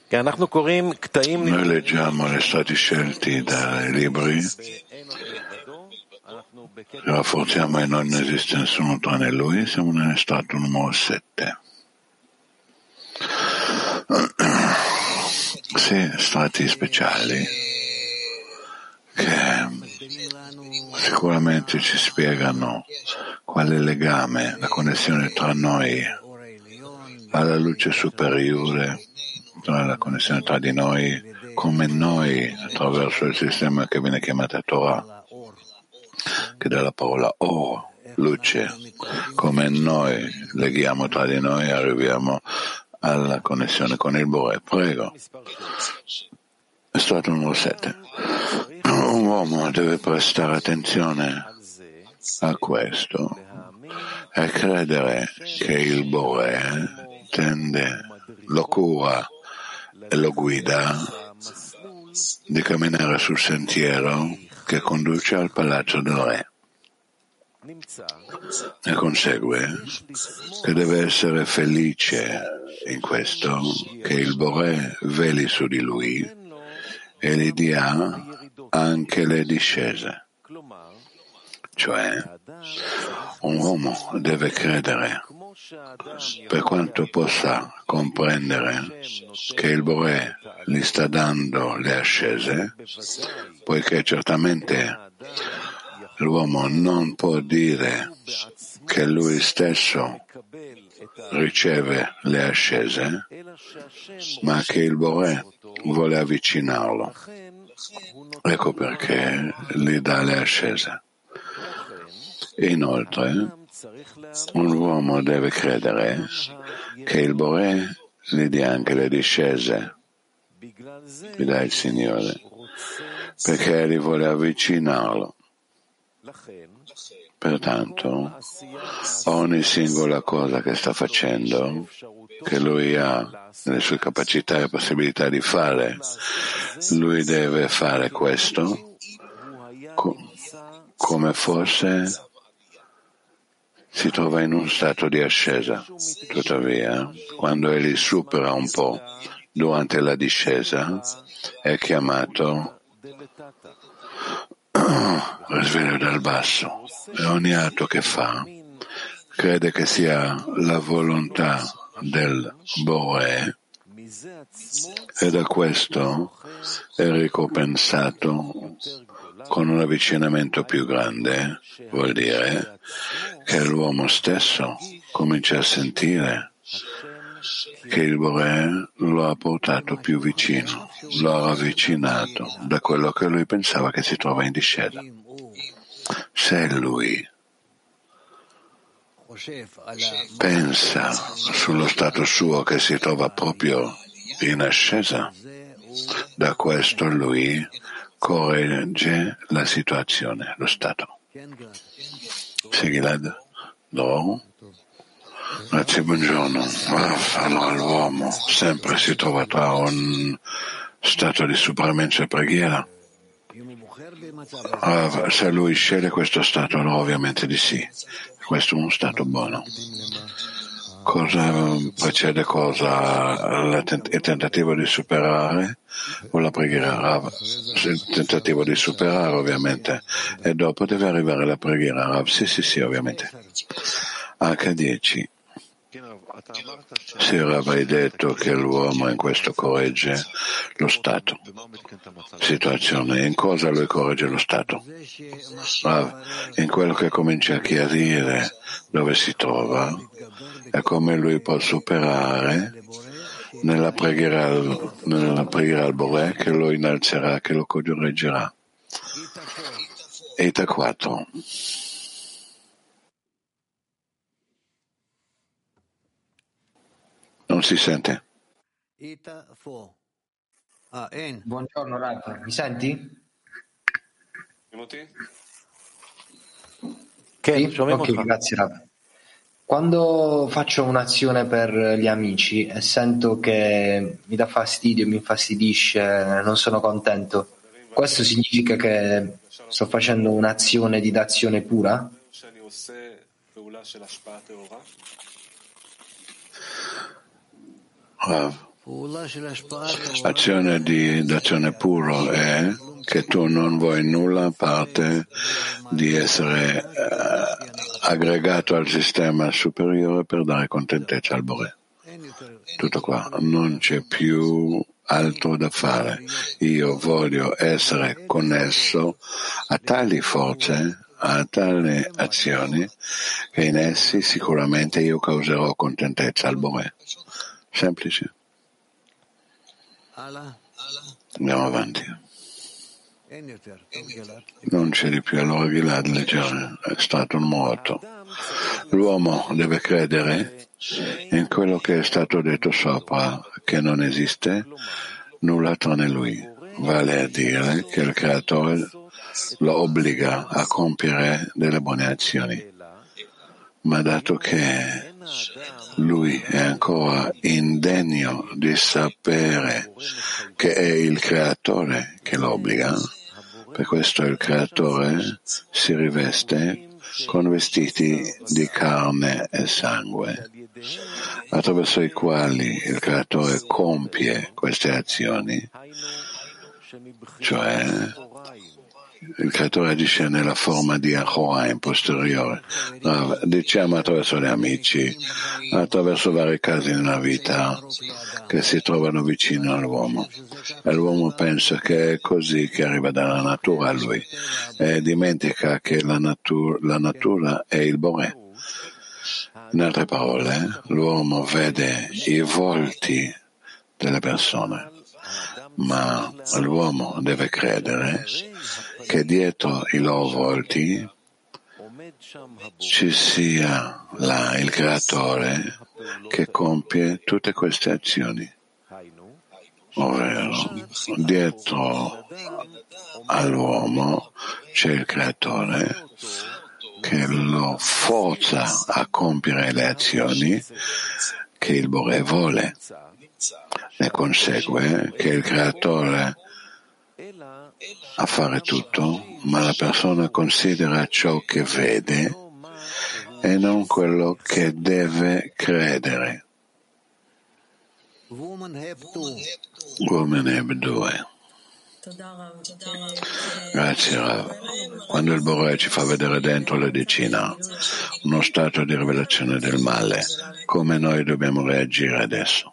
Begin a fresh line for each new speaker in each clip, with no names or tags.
Noi leggiamo gli stati scelti dai libri, rafforziamo e non esiste nessuno tranne lui, siamo nello stato numero 7. Sì, stati speciali che sicuramente ci spiegano qual è il legame, la connessione tra noi alla luce superiore, tra la connessione tra di noi, come noi attraverso il sistema che viene chiamato Torah, che dalla parola Or, luce, come noi leghiamo tra di noi e arriviamo alla connessione con il Bore. Prego. È stato numero 7. Un uomo deve prestare attenzione a questo e credere che il Bore tende, lo cura e lo guida di camminare sul sentiero che conduce al palazzo del re. Ne consegue che deve essere felice in questo, che il Bore veli su di lui e gli dia anche le discese. Cioè, un uomo deve credere, per quanto possa comprendere, che il Bore gli sta dando le ascese, poiché certamente l'uomo non può dire che lui stesso riceve le ascese, ma che il Bore vuole avvicinarlo. Ecco perché gli dà le ascese. Inoltre, un uomo deve credere che il Bore gli dia anche le discese, gli dà il Signore, perché gli vuole avvicinarlo. Pertanto, ogni singola cosa che sta facendo, che lui ha nelle sue capacità e possibilità di fare, lui deve fare questo come fosse si trova in un stato di ascesa. Tuttavia, quando egli supera un po' durante la discesa, è chiamato risveglio dal basso, e ogni atto che fa crede che sia la volontà del Bore e da questo è ricompensato con un avvicinamento più grande. Vuol dire che l'uomo stesso comincia a sentire che il Bore lo ha portato più vicino, lo ha ravvicinato da quello che lui pensava che si trova in discesa. Se lui pensa sullo stato suo che si trova proprio in ascesa, da questo lui corregge la situazione, lo stato. Sì, Gilad? No? Grazie, buongiorno. Allora l'uomo sempre si trova tra un stato di supramenza e preghiera. Se lui sceglie questo stato, allora ovviamente di sì. Questo è uno stato buono. Cosa precede cosa? Il tentativo di superare o la preghiera? Il tentativo di superare ovviamente e dopo deve arrivare la preghiera. Sì, ovviamente. H10. Sì, Rav, hai detto che l'uomo in questo corregge lo stato. Situazione, in cosa lui corregge lo stato? Rav, in quello che comincia a chiarire dove si trova e come lui può superare nella preghiera al Bore che lo innalzerà, che lo correggerà. Eta 4. Non si sente.
Buongiorno Rav, mi senti? Sì? Ok, grazie Rav. Quando faccio un'azione per gli amici e sento che mi dà fastidio, mi infastidisce, non sono contento, questo significa che sto facendo un'azione di d'azione pura?
Rav, L'azione d'azione puro è che tu non vuoi nulla a parte di essere aggregato al sistema superiore per dare contentezza al Boré. Tutto qua, non c'è più altro da fare. Io voglio essere connesso a tali forze, a tali azioni, che in essi sicuramente io causerò contentezza al Boré. Semplice. Andiamo avanti. Non c'è di più, allora Gilad leggere, è stato un morto. L'uomo deve credere in quello che è stato detto sopra, che non esiste nulla tranne lui, vale a dire che il Creatore lo obbliga a compiere delle buone azioni. Ma dato che lui è ancora indegno di sapere che è il Creatore che lo obbliga, per questo il Creatore si riveste con vestiti di carne e sangue, attraverso i quali il Creatore compie queste azioni, cioè il Creatore agisce nella forma di Achoraim posteriore, diciamo attraverso gli amici, attraverso vari casi nella vita che si trovano vicino all'uomo. E l'uomo pensa che è così che arriva dalla natura a lui e dimentica che la natura è il Boré. In altre parole, l'uomo vede i volti delle persone, ma l'uomo deve credere che dietro i loro volti ci sia là il Creatore che compie tutte queste azioni. Ovvero, dietro all'uomo c'è il Creatore che lo forza a compiere le azioni che il Boré vuole. Ne consegue che il Creatore a fare tutto, ma la persona considera ciò che vede e non quello che deve credere. Woman Heb 2. Grazie Rav. Quando il Boré ci fa vedere dentro la decina uno stato di rivelazione del male, come noi dobbiamo reagire adesso?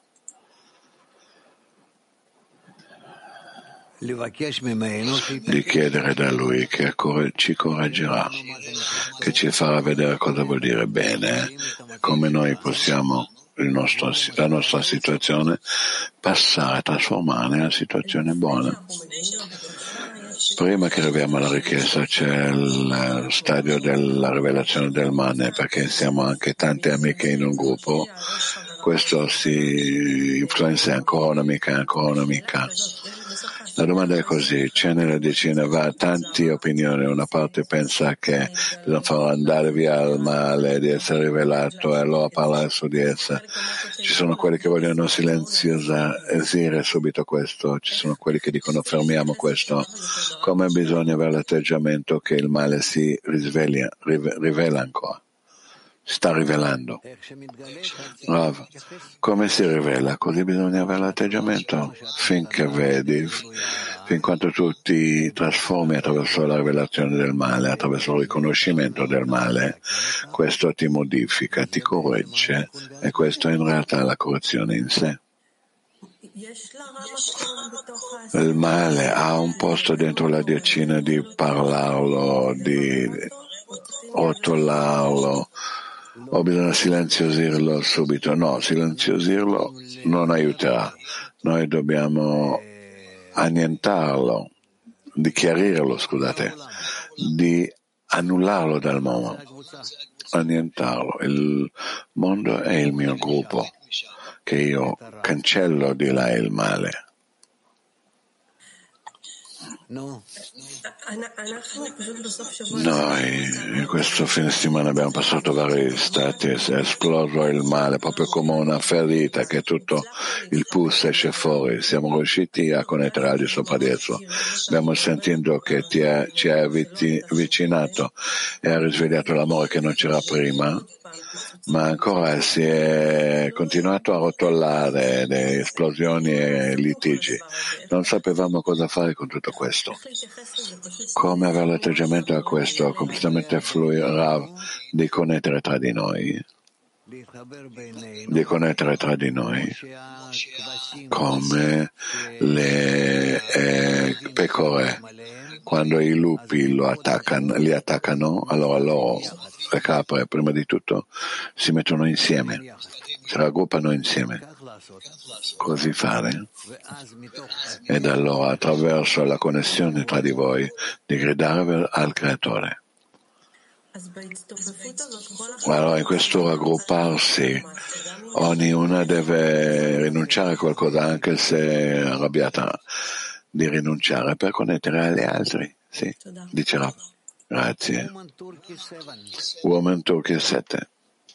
Di chiedere da Lui che ci correggerà, che ci farà vedere cosa vuol dire bene, come noi possiamo la nostra situazione passare a trasformare in una situazione buona. Prima che arriviamo alla richiesta c'è il stadio della rivelazione del male, perché siamo anche tante amiche in un gruppo, questo si influenza ancora un'amica. La domanda è così, c'è nella decina tante opinioni, una parte pensa che bisogna far andare via il male, di essere rivelato e allora parlare su di essa. Ci sono quelli che vogliono silenziare subito questo, ci sono quelli che dicono fermiamo questo. Come bisogna avere l'atteggiamento che il male si rivela ancora? Sta rivelando. Rav, come si rivela? Così bisogna avere l'atteggiamento finché vedi, fin quanto tu ti trasformi attraverso la rivelazione del male, attraverso il riconoscimento del male, questo ti modifica, ti corregge e questo è in realtà la correzione in sé. Il male ha un posto dentro la decina di parlarlo, di rotolarlo, o bisogna silenziosirlo subito? No, silenziosirlo non aiuterà. Noi dobbiamo annientarlo, di chiarirlo, di annullarlo dal mondo, annientarlo. Il mondo è il mio gruppo, che io cancello di là il male. Noi in questo fine settimana abbiamo passato vari stati, è esploso il male proprio come una ferita che tutto il pus esce fuori. Siamo riusciti a connettere al di sopra di esso, abbiamo sentito che ci ha avvicinato e ha risvegliato l'amore che non c'era prima ma ancora si è continuato a rotolare le esplosioni e litigi. Non sapevamo cosa fare con tutto questo. Come avere l'atteggiamento a questo completamente fluido di connettere tra di noi? Di connettere tra di noi come le pecore. Quando i lupi li attaccano, allora loro, le capre, prima di tutto, si mettono insieme, si raggruppano insieme. Così fare. Ed allora, attraverso la connessione tra di voi, di gridare al Creatore. Allora, in questo raggrupparsi, ognuna deve rinunciare a qualcosa, anche se è arrabbiata, di rinunciare per connettere agli altri. Sì, dice Rav. Grazie. Woman Turkey 7.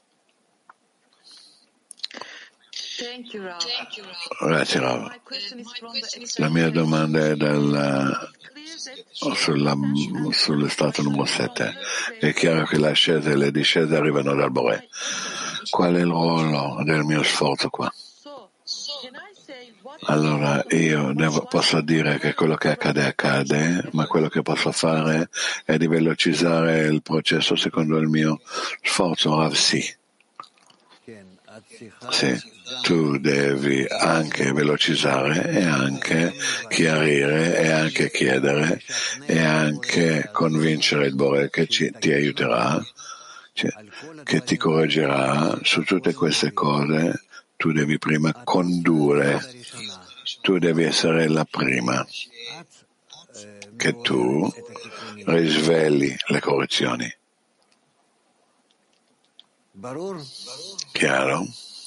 Grazie Rav. La mia domanda è sullo stato numero 7. È chiaro che le ascese e le discese arrivano dal Boré. Qual è il ruolo del mio sforzo qua? Allora io posso dire che quello che accade, ma quello che posso fare è di velocizzare il processo secondo il mio sforzo. Rav, sì. Sì, tu devi anche velocizzare e anche chiarire e anche chiedere e anche convincere il Boré che ti aiuterà, che ti correggerà su tutte queste cose. Tu devi prima condurre, tu devi essere la prima, che tu risvegli le correzioni. Chiaro?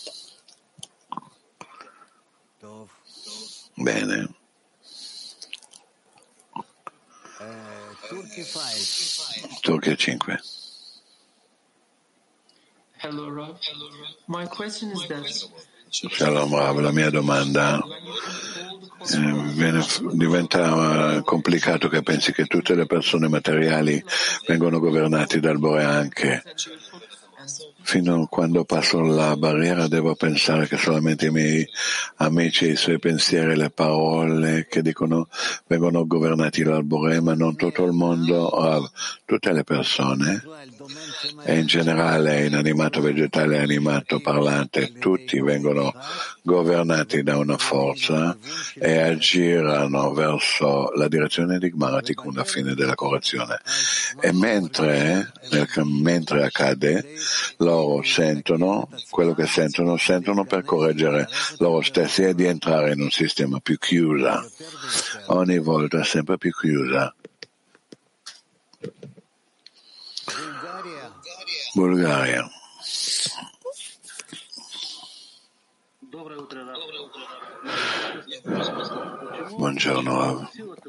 Bene. Turchia 5.
Hello, Rav. My question is that
Shalom Rav, la mia domanda diventa complicato che pensi che tutte le persone materiali vengono governate dal Boré anche. Fino a quando passo la barriera devo pensare che solamente i miei amici, i suoi pensieri e le parole che dicono vengono governati dal Boré, ma non tutto il mondo, tutte le persone, e in generale inanimato, vegetale, animato, parlante, tutti vengono governati da una forza e aggirano verso la direzione di Gmaratikun, la fine della correzione. E mentre accade, loro sentono quello che sentono per correggere loro stessi e di entrare in un sistema più chiuso, ogni volta sempre più chiusa. Bulgaria. Buongiorno Rav.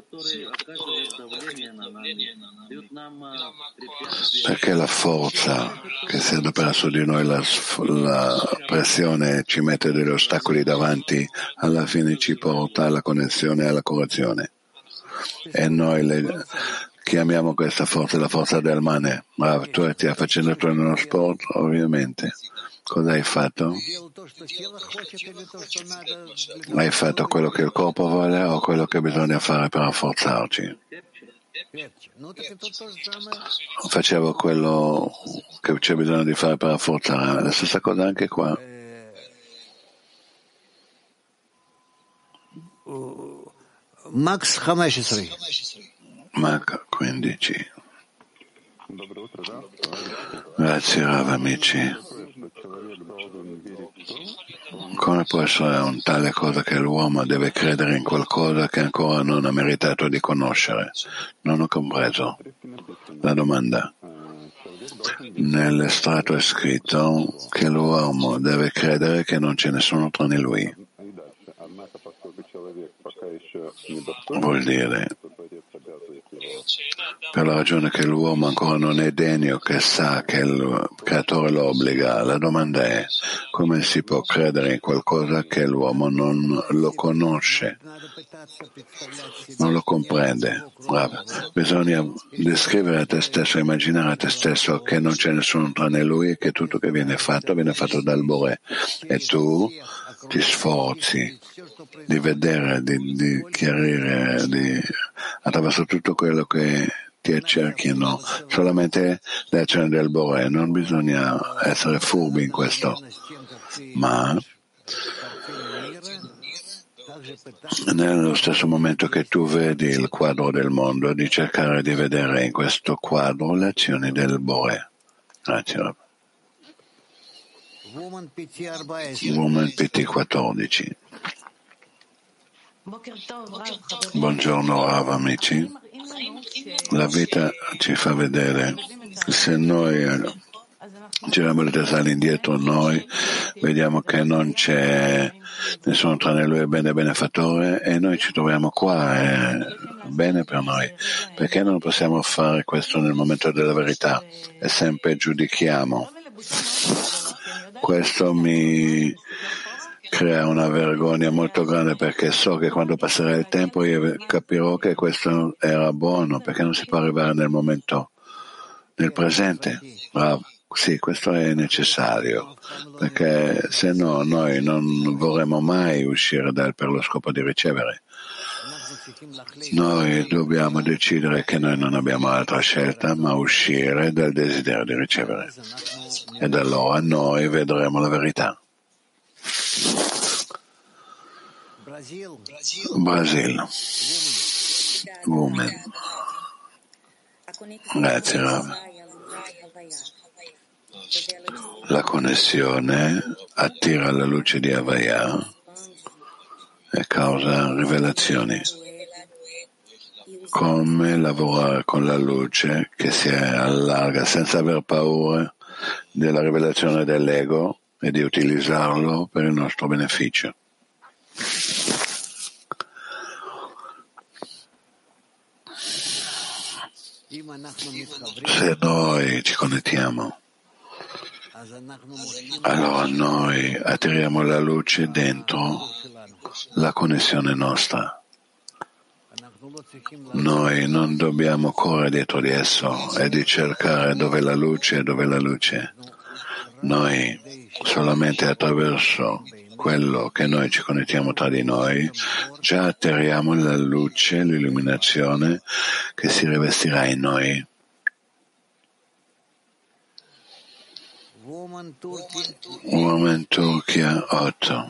Perché la forza che si adopera su di noi, la pressione ci mette degli ostacoli davanti, alla fine ci porta alla connessione e alla correzione. E noi chiamiamo questa forza la forza del Mane. Rav, tu stai facendo uno sport, ovviamente. Cosa hai fatto? Hai fatto quello che il corpo vuole o quello che bisogna fare per rafforzarci? Facevo quello che c'è bisogno di fare per rafforzare. La stessa cosa anche qua.
Max 15.
Max 15. Grazie Rav, amici. Come può essere un tale cosa che l'uomo deve credere in qualcosa che ancora non ha meritato di conoscere? Non ho compreso la domanda. Nell'estratto è scritto che l'uomo deve credere che non c'è nessuno tranne lui. vuol dire per la ragione che l'uomo ancora non è degno, che sa che il creatore lo obbliga. La domanda è: come si può credere in qualcosa che l'uomo non lo conosce, non lo comprende? Bisogna descrivere a te stesso, immaginare a te stesso che non c'è nessuno tranne lui e che tutto che viene fatto dal Boré, e tu ti sforzi di vedere, di chiarire, attraverso tutto quello che ti accerchiano, solamente le azioni del Boré. Non bisogna essere furbi in questo, ma nello stesso momento che tu vedi il quadro del mondo, di cercare di vedere in questo quadro le azioni del Boré. Grazie, Rav. Woman PT 14. Buongiorno Rav, amici. La vita ci fa vedere, se noi giriamo le teste all'indietro, noi vediamo che non c'è nessuno tranne lui, è bene benefattore, e noi ci troviamo qua, è bene per noi. Perché non possiamo fare questo nel momento della verità e sempre giudichiamo? Questo mi crea una vergogna molto grande, perché so che quando passerà il tempo io capirò che questo era buono, perché non si può arrivare nel momento, nel presente. Sì, questo è necessario, perché se no noi non vorremmo mai uscire per lo scopo di ricevere. Noi dobbiamo decidere che noi non abbiamo altra scelta ma uscire dal desiderio di ricevere, ed allora noi vedremo la verità. Brasile. Woman. Grazie, Rav. La connessione attira la luce di Havaya e causa rivelazioni. Come lavorare con la luce che si allarga senza aver paura della rivelazione dell'ego e di utilizzarlo per il nostro beneficio. Se noi ci connettiamo, allora noi attiriamo la luce dentro la connessione nostra. Noi non dobbiamo correre dietro di esso e di cercare dove è la luce. Noi solamente attraverso quello che noi ci connettiamo tra di noi già atterriamo la luce, l'illuminazione che si rivestirà in noi. Woman Turchia 8.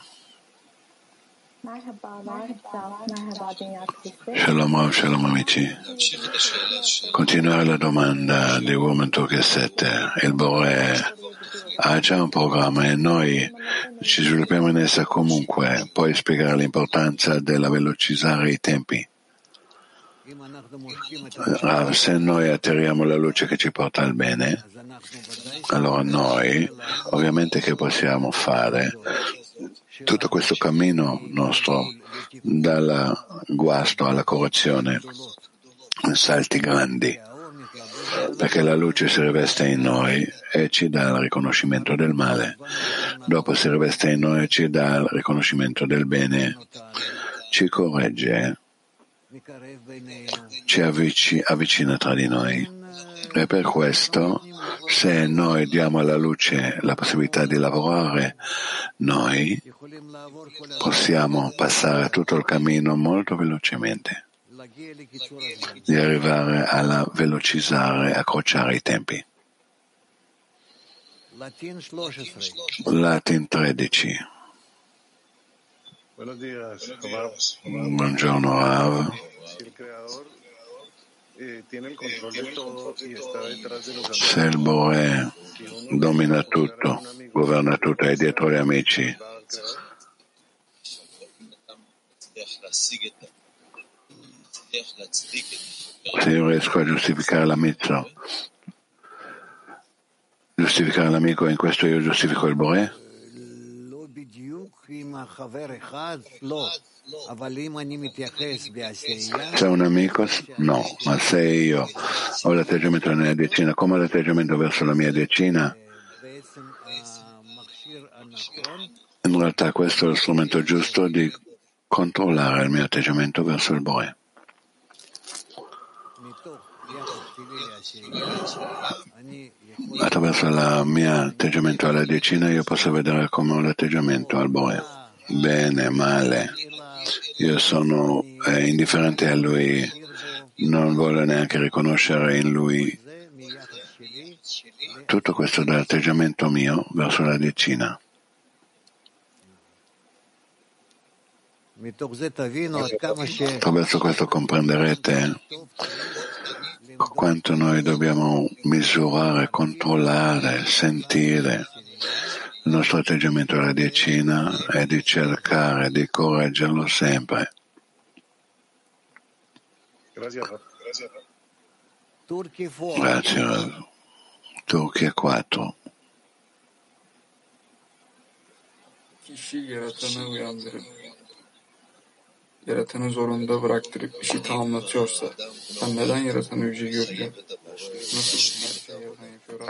Shalom Rav, shalom amici. Continuare la domanda di Woman Turchia 7. Il Boré ha già un programma e noi ci sviluppiamo in essa comunque. Puoi spiegare l'importanza della velocizzare i tempi? Se noi atterriamo la luce che ci porta al bene, allora noi ovviamente che possiamo fare tutto questo cammino nostro dal guasto alla correzione, salti grandi, perché la luce si riveste in noi e ci dà il riconoscimento del male, dopo si riveste in noi e ci dà il riconoscimento del bene, ci corregge, ci avvicina tra di noi, e per questo se noi diamo alla luce la possibilità di lavorare, noi possiamo passare tutto il cammino molto velocemente, di arrivare alla velocizzare, accorciare i tempi. Latin 13. Buongiorno Rav. Se il Boré domina tutto, governa tutto, è dietro gli amici, se io riesco a giustificare la mitzvah, giustificare l'amico, in questo io giustifico il Boré? Se è un amico, no, ma se io ho l'atteggiamento della mia decina come l'atteggiamento verso la mia decina, in realtà questo è lo strumento giusto di controllare il mio atteggiamento verso il Bore. Attraverso il mio atteggiamento alla decina io posso vedere come ho l'atteggiamento al Bore. Bene, male. Io sono indifferente a lui, non voglio neanche riconoscere in lui tutto questo dall'atteggiamento mio verso la decina. Attraverso questo comprenderete quanto noi dobbiamo misurare, controllare, sentire il nostro atteggiamento alla decina e di cercare di correggerlo sempre. Grazie. Turchia 4.
Kişi yaratanı uyandırıp, yaratanı zorunda bıraktırıp işi tamamlatıyorsa, ben neden yaratanı yüce göreceğim? Nasıl her şeyi yaratan yapıyor?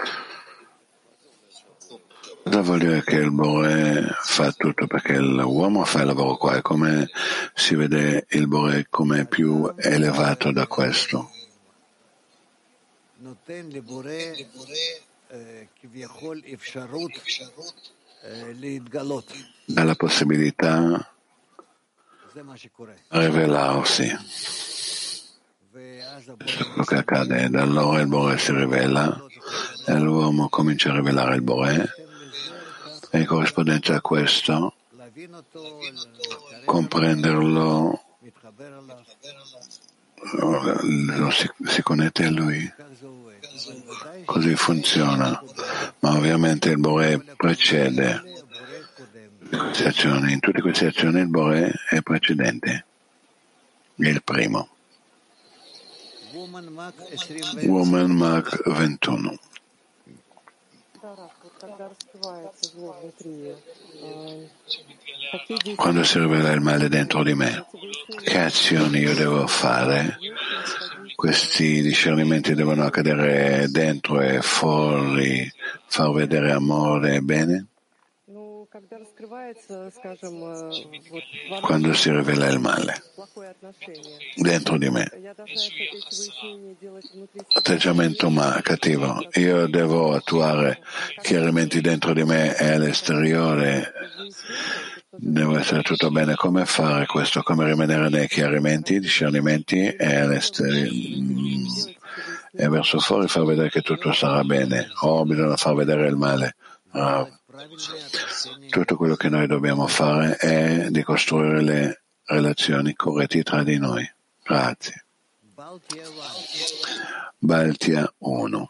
Cosa vuol dire che il Bore fa tutto? Perché l'uomo fa il lavoro qua, e come si vede il Bore come più elevato da questo? Dà la possibilità di rivelarsi. Quello che accade, da allora il Bore si rivela e l'uomo comincia a rivelare il Bore, e in corrispondenza a questo comprenderlo, si connette a lui. Così funziona, ma ovviamente il Bore precede queste azioni. In tutte queste azioni il Bore è precedente, è il primo. Woman Mark 21. Quando si rivela il male dentro di me, che azioni io devo fare? Questi discernimenti devono accadere dentro e fuori, far vedere amore e bene? Quando si rivela il male dentro di me, atteggiamento cattivo, io devo attuare chiarimenti dentro di me e all'esteriore, devo essere tutto bene. Come fare questo? Come rimanere nei chiarimenti, discernimenti e verso fuori far vedere che tutto sarà bene, o bisogna far vedere il male? Tutto quello che noi dobbiamo fare è di costruire le relazioni corrette tra di noi. Grazie. Baltia 1.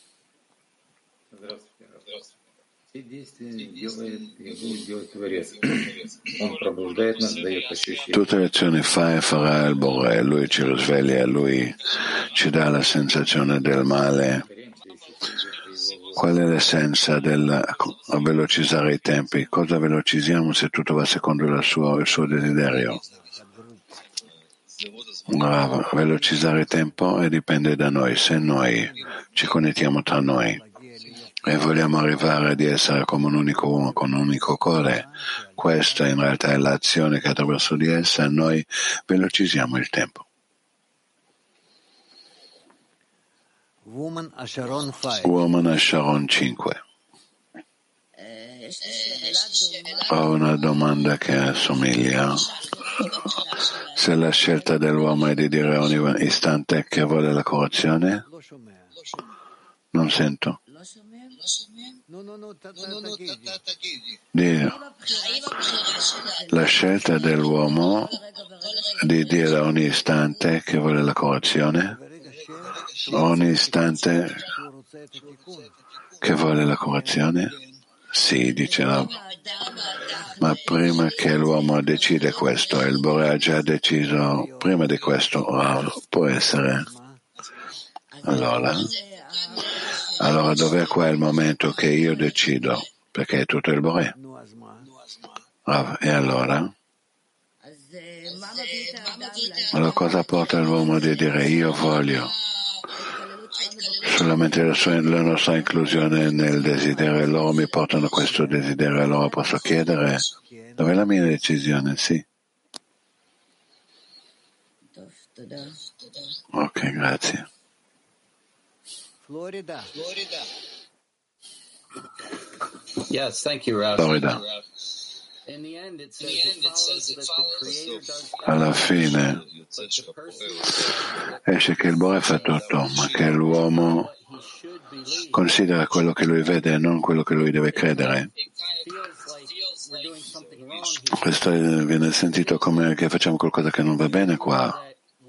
Tutte le azioni fa e farà il Bore, lui ci risveglia, lui ci dà la sensazione del male. Qual è l'essenza del velocizzare i tempi? Cosa velocizziamo se tutto va secondo il suo desiderio? Velocizzare il tempo dipende da noi. Se noi ci connettiamo tra noi e vogliamo arrivare ad essere come un unico uomo, con un unico cuore, questa in realtà è l'azione che attraverso di essa noi velocizziamo il tempo. Woman Asharon 5. Ho una domanda che assomiglia. Se la scelta dell'uomo è di dire a ogni istante che vuole la correzione? Non sento. La scelta dell'uomo di dire a ogni istante che vuole la correzione? Ogni istante che vuole la correzione? Sì, dice Rav. Ma prima che l'uomo decide questo, il Bore ha già deciso prima di questo. Rav, può essere? Allora dov'è qua il momento che io decido? Perché è tutto il Bore. Rav, e allora? Ma la cosa porta l'uomo di dire io voglio? Solamente la nostra inclusione nel desiderio e loro mi portano questo desiderio e allora posso chiedere dove è la mia decisione? Sì. Ok, grazie.
Florida.
Yes, thank you, Rav.
Florida. Alla fine esce che il Bore fa tutto, ma che l'uomo considera quello che lui vede e non quello che lui deve credere. Questo viene sentito come che facciamo qualcosa che non va bene qua.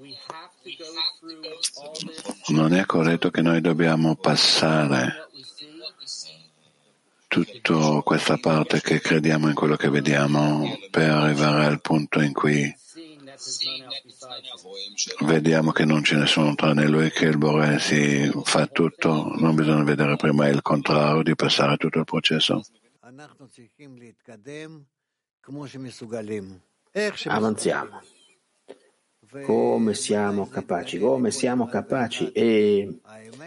Non è corretto che noi dobbiamo passare tutta questa parte che crediamo in quello che vediamo per arrivare al punto in cui vediamo che non c'è nessuno tranne lui, che il Bore si fa tutto. Non bisogna vedere prima il contrario di passare tutto il processo.
Avanziamo come siamo capaci e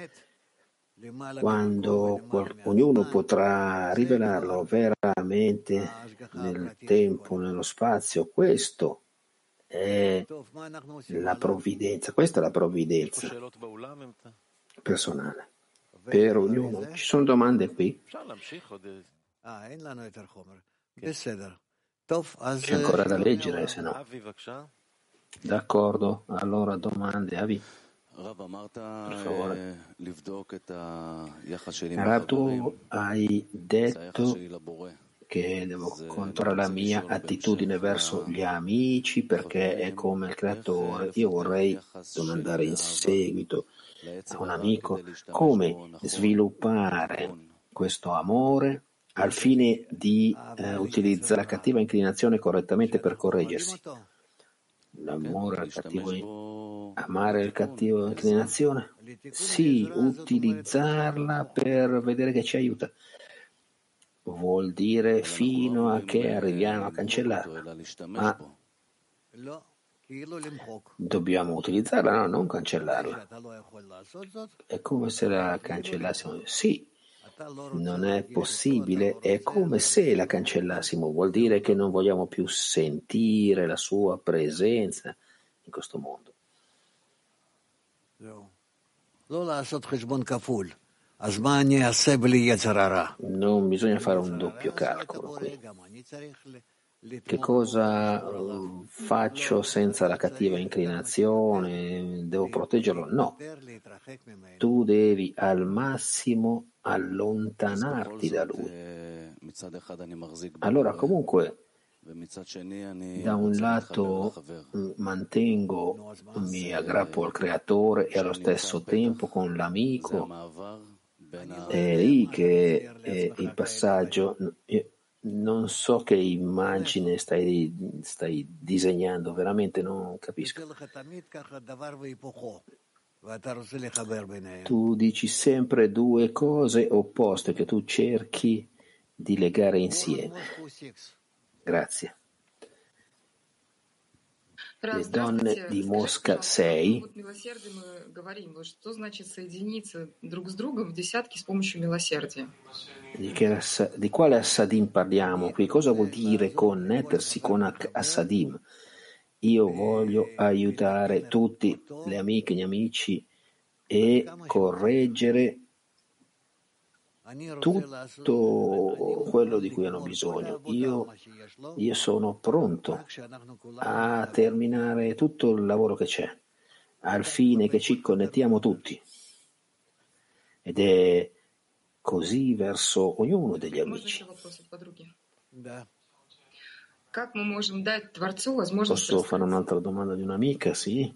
quando ognuno potrà rivelarlo veramente nel tempo, nello spazio, questo è la provvidenza, questa è la provvidenza personale per ognuno. Ci sono domande qui? C'è ancora da leggere, se no. D'accordo, allora domande, Avi. Per favore. Rav, tu hai detto che devo controllare la mia attitudine verso gli amici perché è come il creatore. Io vorrei domandare in seguito a un amico come sviluppare questo amore al fine di utilizzare la cattiva inclinazione correttamente per correggersi. L'amore al cattivo, amare il cattivo inclinazione? Sì, utilizzarla per vedere che ci aiuta. Vuol dire fino a che arriviamo a cancellarla. Ma dobbiamo utilizzarla, no? Non cancellarla. È come se la cancellassimo. Sì, non è possibile, è come se la cancellassimo, vuol dire che non vogliamo più sentire la sua presenza in questo mondo. Non bisogna fare un doppio calcolo qui. Che cosa faccio senza la cattiva inclinazione? Devo proteggerlo? No. Tu devi al massimo allontanarti da lui. Allora comunque da un lato mi aggrappo al creatore e allo stesso tempo con l'amico. È lì che è il passaggio. Non so che immagine stai disegnando, veramente non capisco. Tu dici sempre due cose opposte che tu cerchi di legare insieme. Grazie. Le donne di Mosca 6. Di quale Assadim parliamo qui? Cosa vuol dire connettersi con Assadim? Io voglio aiutare tutti, le amiche, gli amici, e correggere tutto quello di cui hanno bisogno. Io sono pronto a terminare tutto il lavoro che c'è, al fine che ci connettiamo tutti. Ed è così verso ognuno degli amici. Posso fare un'altra domanda di un'amica? Sì.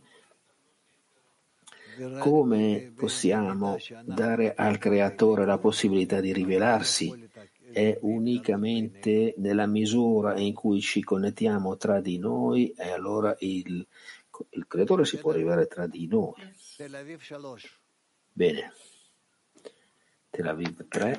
Come possiamo dare al creatore la possibilità di rivelarsi? È unicamente nella misura in cui ci connettiamo tra di noi e allora il creatore si può rivelare tra di noi. Bene. Tel Aviv 3.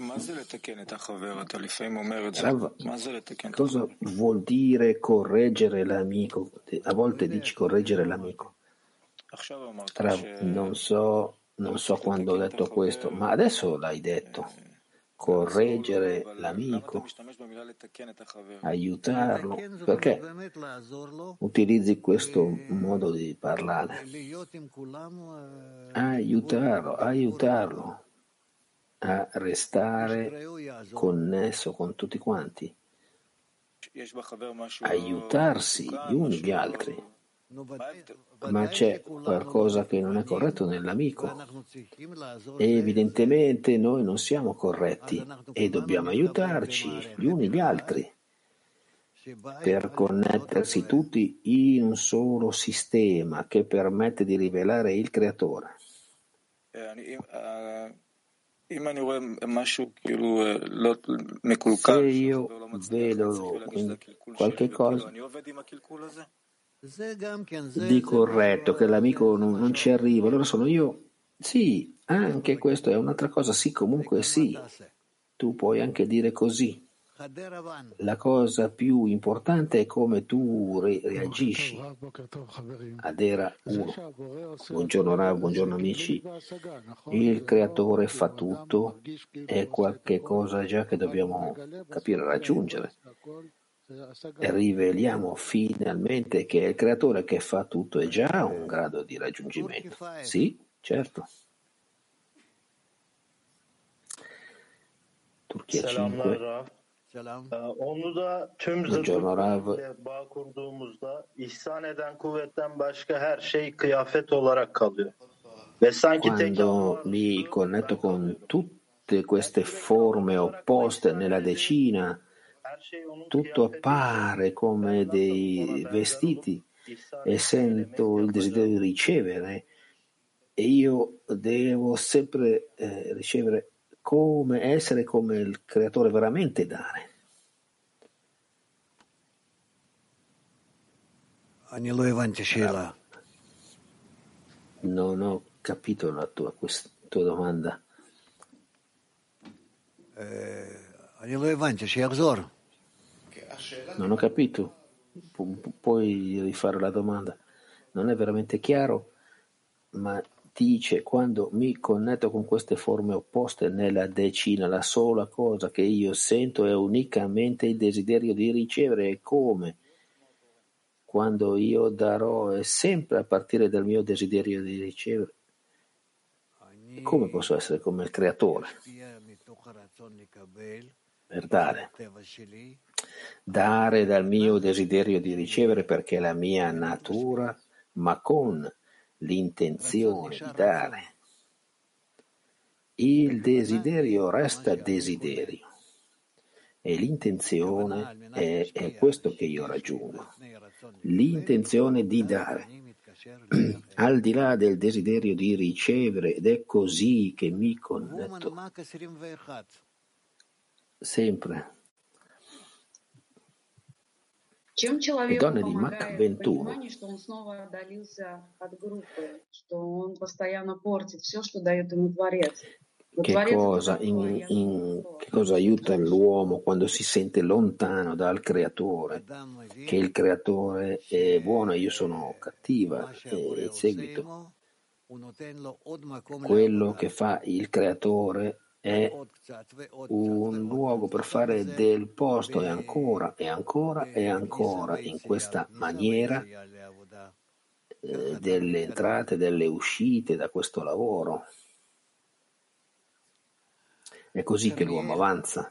Rav, cosa vuol dire correggere l'amico? A volte dici correggere l'amico. Rav, non so quando ho detto questo, ma adesso l'hai detto. Correggere l'amico, aiutarlo. Perché utilizzi questo modo di parlare? Aiutarlo a restare connesso con tutti quanti, aiutarsi gli uni gli altri. Ma c'è qualcosa che non è corretto nell'amico e evidentemente noi non siamo corretti e dobbiamo aiutarci gli uni gli altri per connettersi tutti in un solo sistema che permette di rivelare il creatore. Se io vedo qualche cosa di corretto, che l'amico non ci arriva, allora sono io. Sì, anche questo è un'altra cosa. Sì, comunque sì, tu puoi anche dire così. La cosa più importante è come tu reagisci. Adera 1. Buongiorno Rav, buongiorno amici. Il creatore fa tutto, è qualche cosa già che dobbiamo capire, raggiungere. E riveliamo finalmente che il creatore che fa tutto è già un grado di raggiungimento. Sì, certo. Turchia 5.
Onu da tüm zıtlıklarla bağ kurduğumuzda ihsan eden kuvvetten başka her şey kıyafet olarak kalıyor. Ve sanki
Quando mi connetto con tutte queste forme opposte nella decina, tutto appare come dei vestiti e sento il desiderio di ricevere e io devo sempre ricevere, come essere come il creatore veramente dare. Non ho capito la tua domanda. Non ho capito. Puoi rifare la domanda? Non è veramente chiaro, ma dice quando mi connetto con queste forme opposte nella decina, la sola cosa che io sento è unicamente il desiderio di ricevere e come quando io darò è sempre a partire dal mio desiderio di ricevere. E come posso essere come il creatore per dare dal mio desiderio di ricevere perché è la mia natura, ma con l'intenzione di dare. Il desiderio resta desiderio e l'intenzione è questo che io raggiungo, l'intenzione di dare, al di là del desiderio di ricevere, ed è così che mi connetto sempre. Le donne di Mach 21. Che cosa aiuta l'uomo quando si sente lontano dal creatore? Che il creatore è buono e io sono cattiva, e in seguito quello che fa il creatore è un luogo per fare del posto e ancora e ancora e ancora in questa maniera delle entrate e delle uscite da questo lavoro. È così che l'uomo avanza.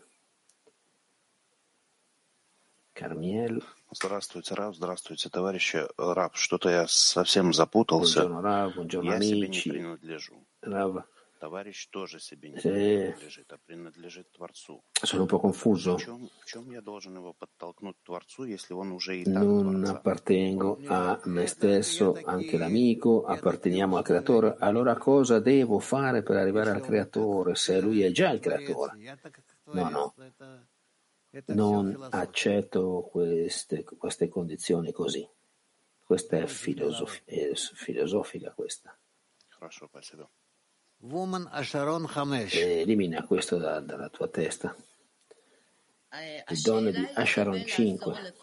Carmiel.
Здравствуйте, Рав, здравствуйте, товарищи. Рав, что-то я совсем запутался.
Buongiorno, Rav, buongiorno,
я
amici.
себе не принадлежу.
Rav.
Товарищ тоже себе не принадлежит, а принадлежит Творцу.
Sono un po' confuso.
В чем я должен его подтолкнуть к Творцу, если он уже и так
Non
Творца?
appartengo a me stesso, anche l'amico, apparteniamo al creatore. Allora cosa devo fare per arrivare al creatore se lui è già il creatore? No. Non accetto queste condizioni così. Questa è filosofica questa.
Хорошо, спасибо.
Elimina questo dalla tua testa. Le donne di Asharon 5.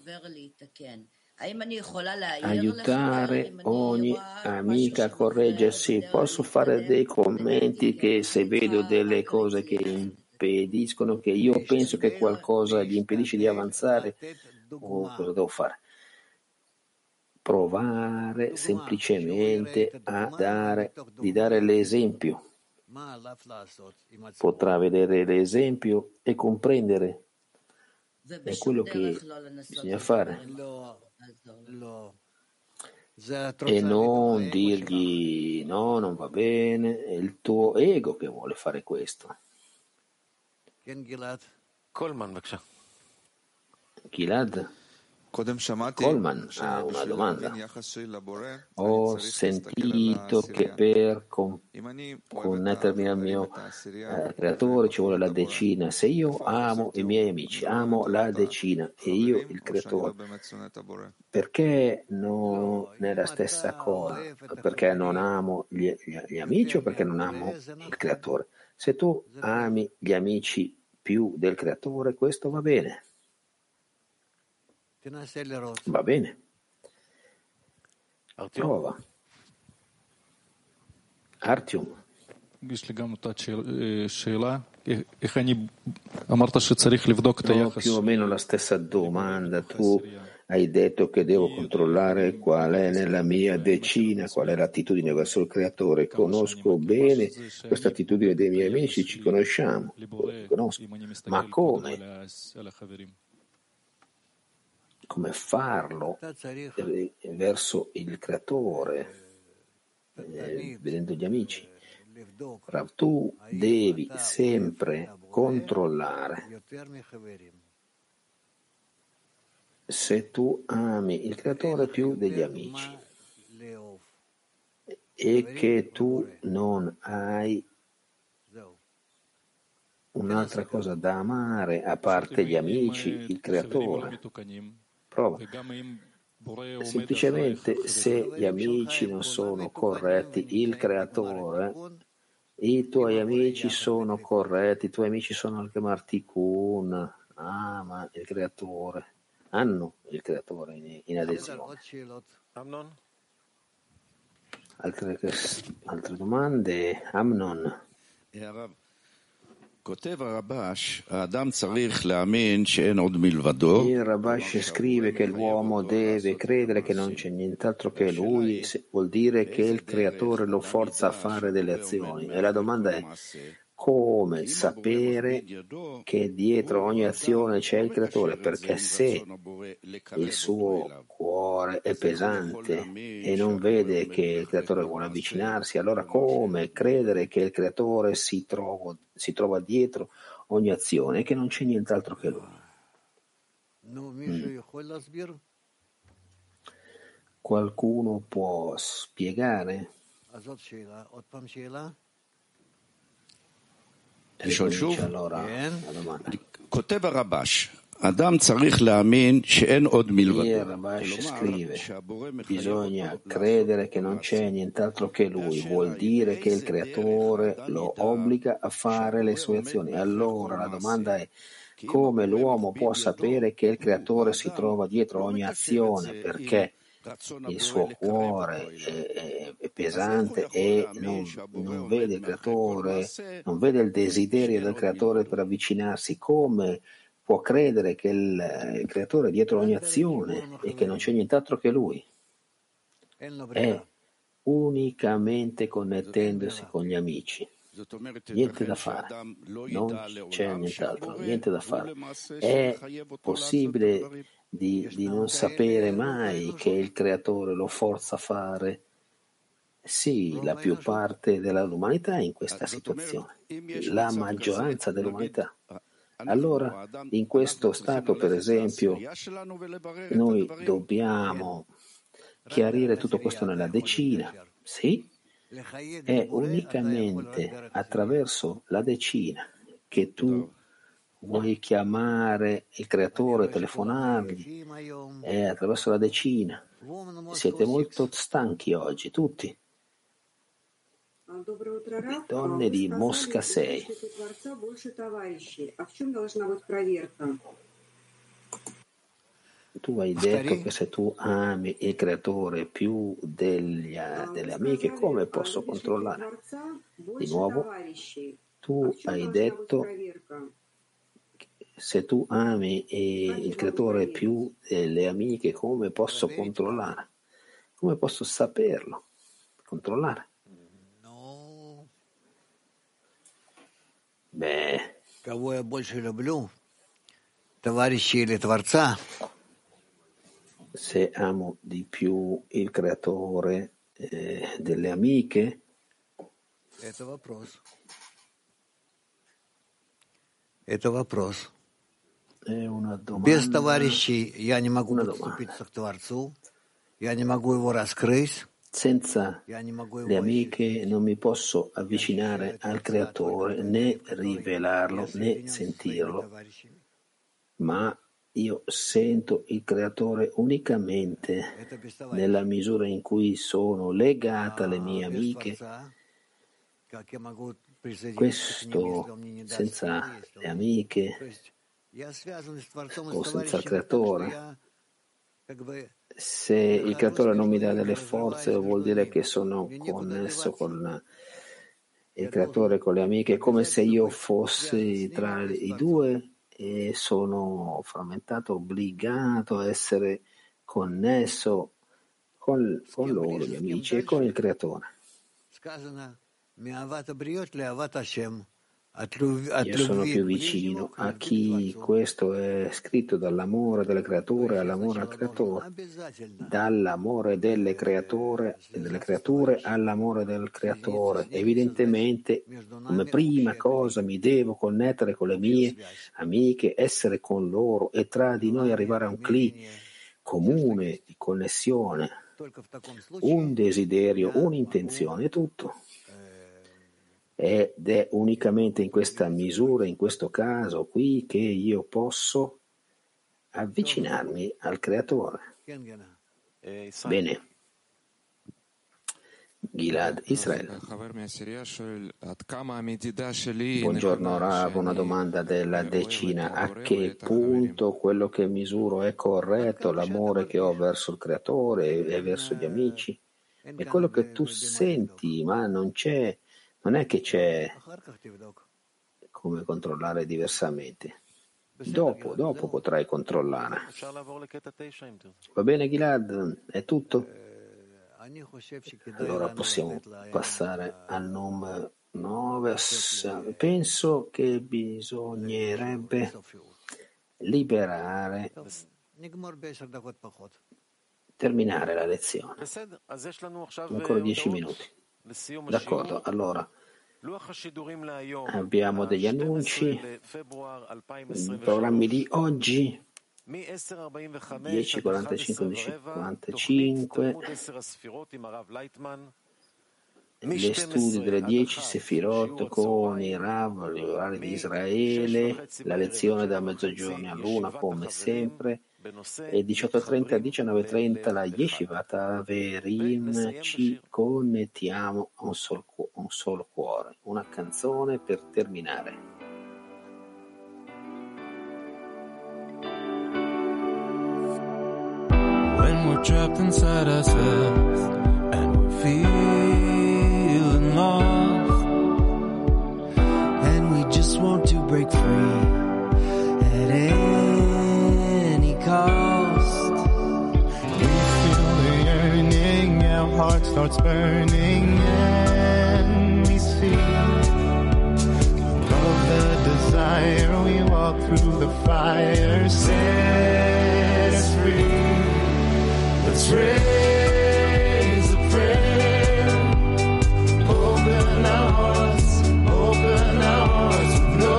Aiutare ogni amica a correggersi. Posso fare dei commenti che se vedo delle cose che impediscono, che io penso che qualcosa gli impedisce di avanzare, o cosa devo fare? Provare semplicemente di dare l'esempio. Potrà vedere l'esempio e comprendere. È quello che bisogna fare. E non dirgli no, non va bene, è il tuo ego che vuole fare questo. Gilad? Coleman ha una domanda. Ho sentito che per connettermi al mio creatore ci vuole la decina. Se io amo i miei amici, amo la decina e io il creatore, perché non è la stessa cosa? Perché non amo gli amici o perché non amo il creatore? Se tu ami gli amici più del creatore, questo va bene. Va bene. Prova. Artyom. Più o meno la stessa domanda. Tu hai detto che devo controllare qual è nella mia decina, qual è l'attitudine verso il creatore. Conosco bene questa attitudine dei miei amici, ci conosciamo, conosco. Ma come? Come farlo verso il creatore, vedendo gli amici. Tu devi sempre controllare se tu ami il creatore più degli amici e che tu non hai un'altra cosa da amare a parte gli amici, il creatore. Prova. Semplicemente se gli amici non sono corretti, il creatore, i tuoi amici sono corretti, i tuoi amici sono anche Martikun, ama il creatore, hanno il creatore in adesione. Altre domande? Amnon.
Il Rabash scrive che l'uomo deve credere che non c'è nient'altro che lui, vuol dire che il creatore lo forza a fare delle azioni. E la domanda è: come sapere che dietro ogni azione c'è il creatore? Perché se il suo cuore è pesante e non vede che il creatore vuole avvicinarsi, allora come credere che il creatore si trova dietro ogni azione e che non c'è nient'altro che lui? Qualcuno può spiegare? Allora la domanda. Il Rabash scrive: bisogna credere che non c'è nient'altro che lui, vuol dire che il creatore lo obbliga a fare le sue azioni. Allora la domanda è: come l'uomo può sapere che il creatore si trova dietro ogni azione? Perché il suo cuore è pesante e non vede il creatore, non vede il desiderio del creatore per avvicinarsi. Come può credere che il creatore è dietro ogni azione e che non c'è nient'altro che lui? È unicamente connettendosi con gli amici. Niente da fare, non c'è nient'altro, niente da fare. È possibile di non sapere mai che il creatore lo forza a fare? Sì, la più parte dell'umanità è in questa situazione, la maggioranza dell'umanità. Allora, in questo stato, per esempio, noi dobbiamo chiarire tutto questo nella decina. Sì, è unicamente attraverso la decina che tu vuoi chiamare il creatore, telefonargli, è attraverso la decina. Siete molto stanchi oggi, tutti.
donne di Mosca 6. Tu hai detto che se tu ami il creatore più delle amiche, come posso controllare? Di nuovo, tu hai detto se tu ami il creatore più delle amiche, come posso controllare? Come posso saperlo? Controllare? Beh, se amo di più il creatore delle amiche, è una domanda. Senza le amiche non mi posso avvicinare al creatore, né rivelarlo, né sentirlo, ma io sento il creatore unicamente nella misura in cui sono legata alle mie amiche. Questo senza le amiche o senza il creatore. Se il creatore non mi dà delle forze, vuol dire che sono connesso con il creatore, con le amiche, come se io fossi tra i due e sono frammentato, obbligato a essere connesso con loro, gli amici, e con il creatore. Io sono più vicino a chi questo è scritto dall'amore delle creature all'amore al creatore, dall'amore delle creature all'amore del creatore. Evidentemente, come prima cosa mi devo connettere con le mie amiche, essere con loro e tra di noi arrivare a un cli comune di connessione, un desiderio, un'intenzione, tutto. Ed è unicamente in questa misura, in questo caso qui, che io posso avvicinarmi al creatore. Bene. Gilad Israel. Buongiorno Rav, una domanda della decina: a che punto quello che misuro è corretto, l'amore che ho verso il creatore e verso gli amici? È quello che tu senti, ma non è che c'è come controllare diversamente. Dopo potrai controllare. Va bene Gilad? È tutto? Allora possiamo passare al numero 9. Penso che bisognerebbe terminare la lezione. Ancora 10 minuti. D'accordo, allora abbiamo degli annunci, i programmi di oggi 10:45-11:55, le studi delle 10 Sefirot con i Rav, gli orari di Israele, la lezione da mezzogiorno all'una come sempre, e 18:30-19:30 la Yeshivat Averim. Ci connettiamo a un solo cuore. Una canzone per terminare.
When we're trapped inside ourselves and we're feeling lost and we just want to break free at any cost. We feel the yearning, our heart starts burning, and we see above the desire. We walk through the fire, set us free. Let's raise a prayer, open our hearts with no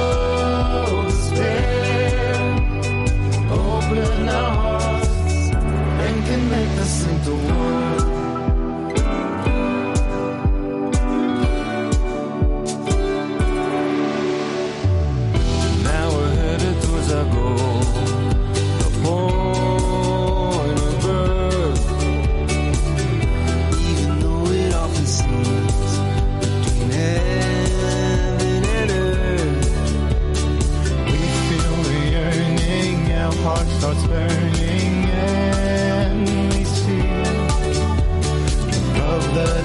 despair. Open our hearts and connect us into one. Now we're headed towards our goal, the point of birth.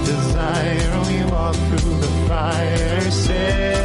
desire. We walk through the fire. Say